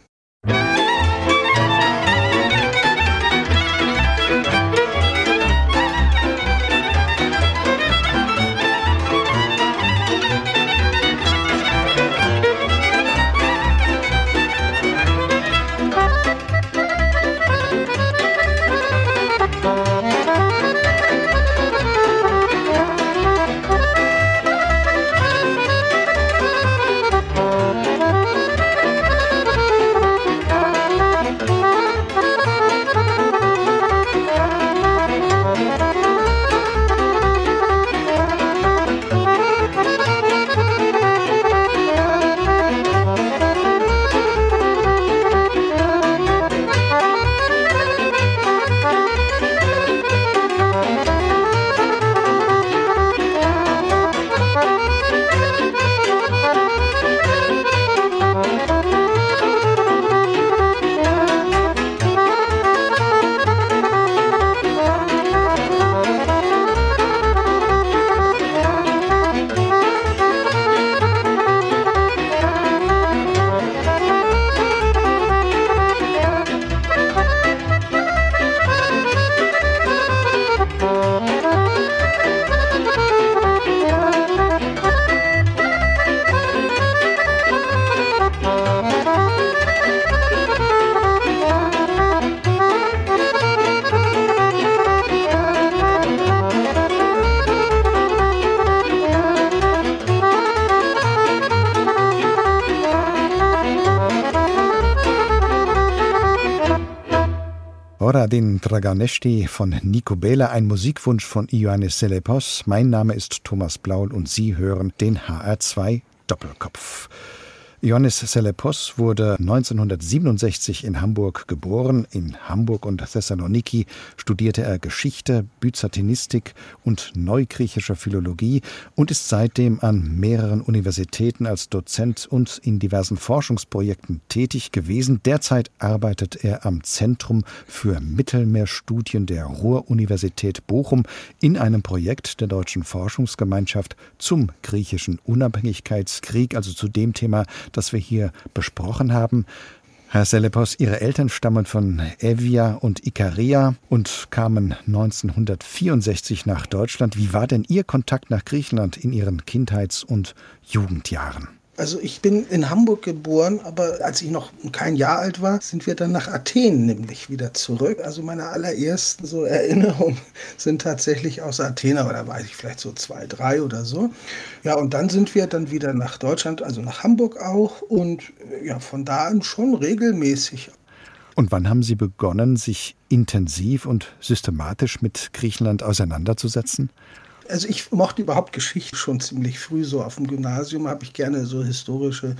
Hora din Draganești von Nico Bela, ein Musikwunsch von Ioannis Selepos. Mein Name ist Thomas Blaul und Sie hören den H R zwei Doppelkopf. Ioannis Selepos wurde neunzehnhundertsiebenundsechzig in Hamburg geboren. In Hamburg und Thessaloniki studierte er Geschichte, Byzantinistik und neugriechische Philologie und ist seitdem an mehreren Universitäten als Dozent und in diversen Forschungsprojekten tätig gewesen. Derzeit arbeitet er am Zentrum für Mittelmeerstudien der Ruhr-Universität Bochum in einem Projekt der Deutschen Forschungsgemeinschaft zum griechischen Unabhängigkeitskrieg, also zu dem Thema, das wir hier besprochen haben. Herr Selepos, Ihre Eltern stammen von Evia und Ikaria und kamen neunzehnhundertvierundsechzig nach Deutschland. Wie war denn Ihr Kontakt nach Griechenland in Ihren Kindheits- und Jugendjahren? Also ich bin in Hamburg geboren, aber als ich noch kein Jahr alt war, sind wir dann nach Athen nämlich wieder zurück. Also meine allerersten so Erinnerungen sind tatsächlich aus Athen, aber da war ich vielleicht so zwei, drei oder so. Ja, und dann sind wir dann wieder nach Deutschland, also nach Hamburg auch und ja, von da an schon regelmäßig. Und wann haben Sie begonnen, sich intensiv und systematisch mit Griechenland auseinanderzusetzen? Also ich mochte überhaupt Geschichte schon ziemlich früh. So auf dem Gymnasium habe ich gerne so historische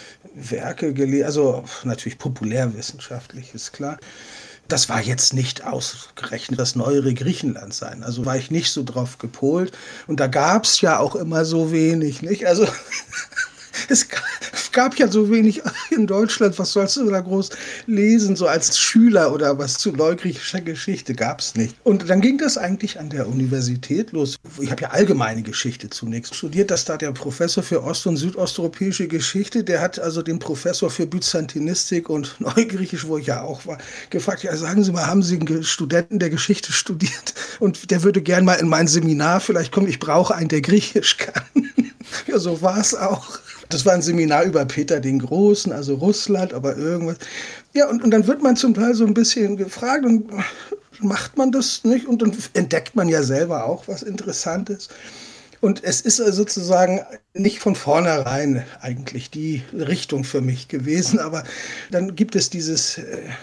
Werke gelesen. Also natürlich populärwissenschaftlich, ist klar. Das war jetzt nicht ausgerechnet das neuere Griechenland sein. Also war ich nicht so drauf gepolt. Und da gab es ja auch immer so wenig, nicht? Also es gab ja so wenig in Deutschland, was sollst du da groß lesen, so als Schüler oder was zu neugriechischer Geschichte gab es nicht. Und dann ging das eigentlich an der Universität los. Ich habe ja allgemeine Geschichte zunächst studiert, dass da der Professor für ost- und südosteuropäische Geschichte, der hat also den Professor für Byzantinistik und Neugriechisch, wo ich ja auch war, gefragt, ja sagen Sie mal, haben Sie einen Studenten der Geschichte studiert? Und der würde gern mal in mein Seminar vielleicht kommen, ich brauche einen, der Griechisch kann. Ja, so war es auch. Das war ein Seminar über Peter den Großen, also Russland, aber irgendwas. Ja, und, und dann wird man zum Teil so ein bisschen gefragt und macht man das nicht? Und dann entdeckt man ja selber auch was Interessantes. Und es ist sozusagen nicht von vornherein eigentlich die Richtung für mich gewesen, aber dann gibt es dieses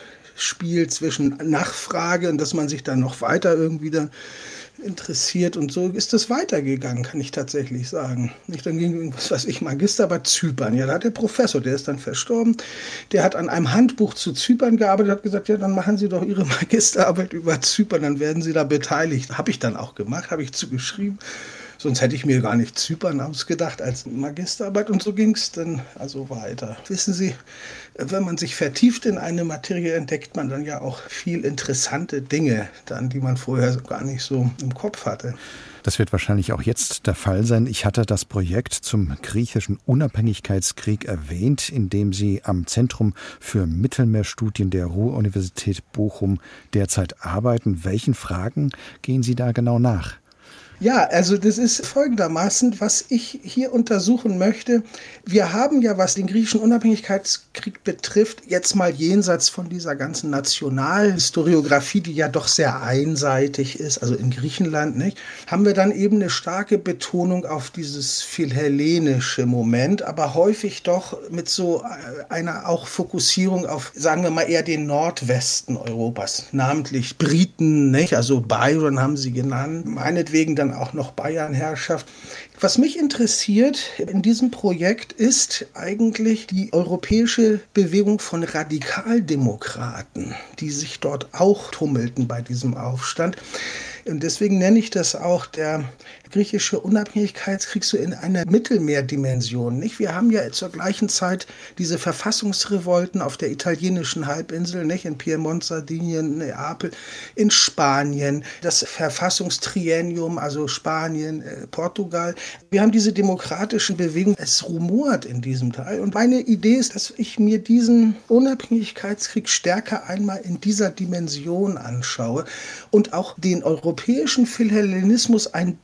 Spiel zwischen Nachfrage und dass man sich dann noch weiter irgendwie dann interessiert und so ist das weitergegangen, kann ich tatsächlich sagen. Dann ging, was weiß ich, Magisterarbeit Zypern. Ja, da hat der Professor, der ist dann verstorben, der hat an einem Handbuch zu Zypern gearbeitet, hat gesagt, ja, dann machen Sie doch Ihre Magisterarbeit über Zypern, dann werden Sie da beteiligt. Habe ich dann auch gemacht, habe ich zugeschrieben. Sonst hätte ich mir gar nicht Zypern ausgedacht als Magisterarbeit. Und so ging es dann also weiter. Wissen Sie, wenn man sich vertieft in eine Materie, entdeckt man dann ja auch viel interessante Dinge, dann, die man vorher gar nicht so im Kopf hatte. Das wird wahrscheinlich auch jetzt der Fall sein. Ich hatte das Projekt zum griechischen Unabhängigkeitskrieg erwähnt, in dem Sie am Zentrum für Mittelmeerstudien der Ruhr-Universität Bochum derzeit arbeiten. Welchen Fragen gehen Sie da genau nach? Ja, also das ist folgendermaßen, was ich hier untersuchen möchte. Wir haben ja, was den griechischen Unabhängigkeitskrieg betrifft, jetzt mal jenseits von dieser ganzen Nationalhistoriografie, die ja doch sehr einseitig ist, also in Griechenland, nicht, haben wir dann eben eine starke Betonung auf dieses philhellenische Moment, aber häufig doch mit so einer auch Fokussierung auf, sagen wir mal, eher den Nordwesten Europas, namentlich Briten, nicht? Also Byron haben sie genannt, meinetwegen dann auch noch Bayernherrschaft. Was mich interessiert in diesem Projekt ist eigentlich die europäische Bewegung von Radikaldemokraten, die sich dort auch tummelten bei diesem Aufstand. Und deswegen nenne ich das auch der griechische Unabhängigkeitskrieg so in einer Mittelmeerdimension. Nicht? Wir haben ja zur gleichen Zeit diese Verfassungsrevolten auf der italienischen Halbinsel, nicht? In Piemont, Sardinien, Neapel, in Spanien, das Verfassungstriennium, also Spanien, Portugal. Wir haben diese demokratischen Bewegungen, es rumort in diesem Teil. Und meine Idee ist, dass ich mir diesen Unabhängigkeitskrieg stärker einmal in dieser Dimension anschaue und auch den europäischen Philhellenismus ein bisschen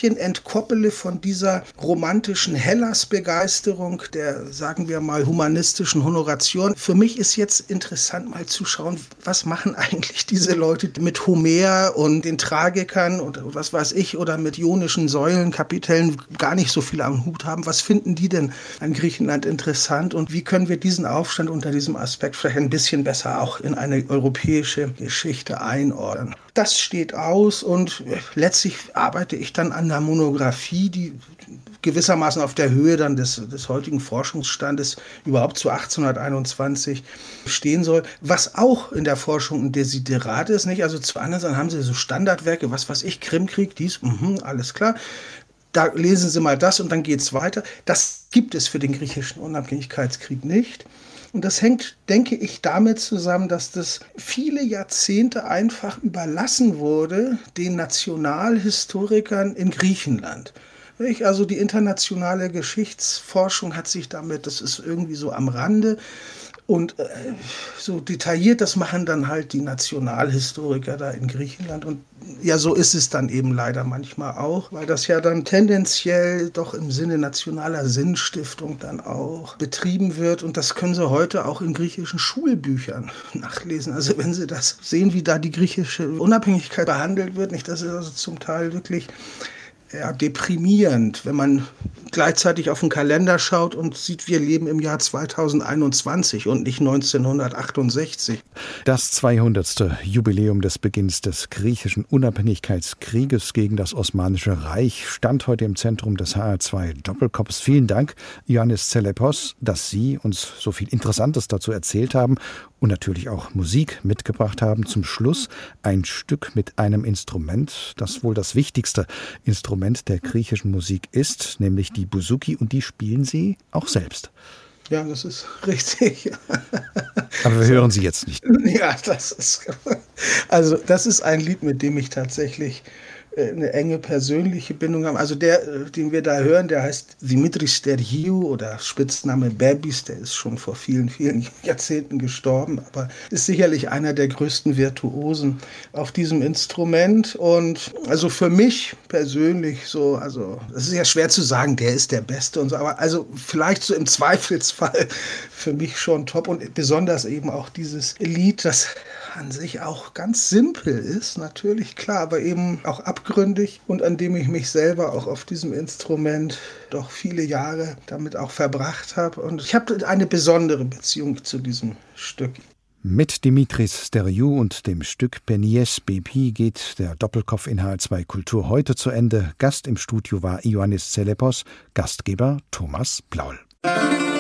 bisschen entkoppele von dieser romantischen Hellas-Begeisterung, der, sagen wir mal, humanistischen Honoration. Für mich ist jetzt interessant, mal zu schauen, was machen eigentlich diese Leute mit Homer und den Tragikern und was weiß ich, oder mit ionischen Säulenkapitellen gar nicht so viel am Hut haben. Was finden die denn an Griechenland interessant und wie können wir diesen Aufstand unter diesem Aspekt vielleicht ein bisschen besser auch in eine europäische Geschichte einordnen? Das steht aus und letztlich arbeite ich dann an einer Monographie, die gewissermaßen auf der Höhe dann des, des heutigen Forschungsstandes überhaupt zu achtzehnhunderteinundzwanzig stehen soll, was auch in der Forschung ein Desiderat ist, nicht? Also zu anderen Seiten haben sie so Standardwerke, was weiß ich, Krimkrieg, dies, mh, alles klar. Da lesen Sie mal das und dann geht es weiter. Das gibt es für den griechischen Unabhängigkeitskrieg nicht. Und das hängt, denke ich, damit zusammen, dass das viele Jahrzehnte einfach überlassen wurde den Nationalhistorikern in Griechenland. Also die internationale Geschichtsforschung hat sich damit, das ist irgendwie so am Rande. Und äh, so detailliert, das machen dann halt die Nationalhistoriker da in Griechenland. Und ja, so ist es dann eben leider manchmal auch, weil das ja dann tendenziell doch im Sinne nationaler Sinnstiftung dann auch betrieben wird. Und das können Sie heute auch in griechischen Schulbüchern nachlesen. Also wenn Sie das sehen, wie da die griechische Unabhängigkeit behandelt wird, nicht, das ist also zum Teil wirklich ja, deprimierend, wenn man gleichzeitig auf den Kalender schaut und sieht, wir leben im Jahr zweitausendeinundzwanzig und nicht neunzehnhundertachtundsechzig. Das zweihundertste Jubiläum des Beginns des griechischen Unabhängigkeitskrieges gegen das Osmanische Reich stand heute im Zentrum des H R zwei Doppelkopfs. Vielen Dank, Ioannis Tsellepos, dass Sie uns so viel Interessantes dazu erzählt haben und natürlich auch Musik mitgebracht haben. Zum Schluss ein Stück mit einem Instrument, das wohl das wichtigste Instrument der griechischen Musik ist, nämlich die Bouzouki, und die spielen Sie auch selbst. Ja, das ist richtig. Aber wir hören sie jetzt nicht. Ja, das ist, also das ist ein Lied, mit dem ich tatsächlich eine enge persönliche Bindung habe. Also der, den wir da hören, der heißt Dimitris Stergiou oder Spitzname Babis, der ist schon vor vielen, vielen Jahrzehnten gestorben, aber ist sicherlich einer der größten Virtuosen auf diesem Instrument. Und also für mich persönlich so, also es ist ja schwer zu sagen, der ist der Beste und so, aber also vielleicht so im Zweifelsfall für mich schon top und besonders eben auch dieses Lied, das an sich auch ganz simpel ist, natürlich, klar, aber eben auch abgründig und an dem ich mich selber auch auf diesem Instrument doch viele Jahre damit auch verbracht habe. Und ich habe eine besondere Beziehung zu diesem Stück. Mit Dimitris Stergiou und dem Stück Penies Bepi geht der Doppelkopf in H R zwei Kultur heute zu Ende. Gast im Studio war Ioannis Tsellepos, Gastgeber Thomas Blaul.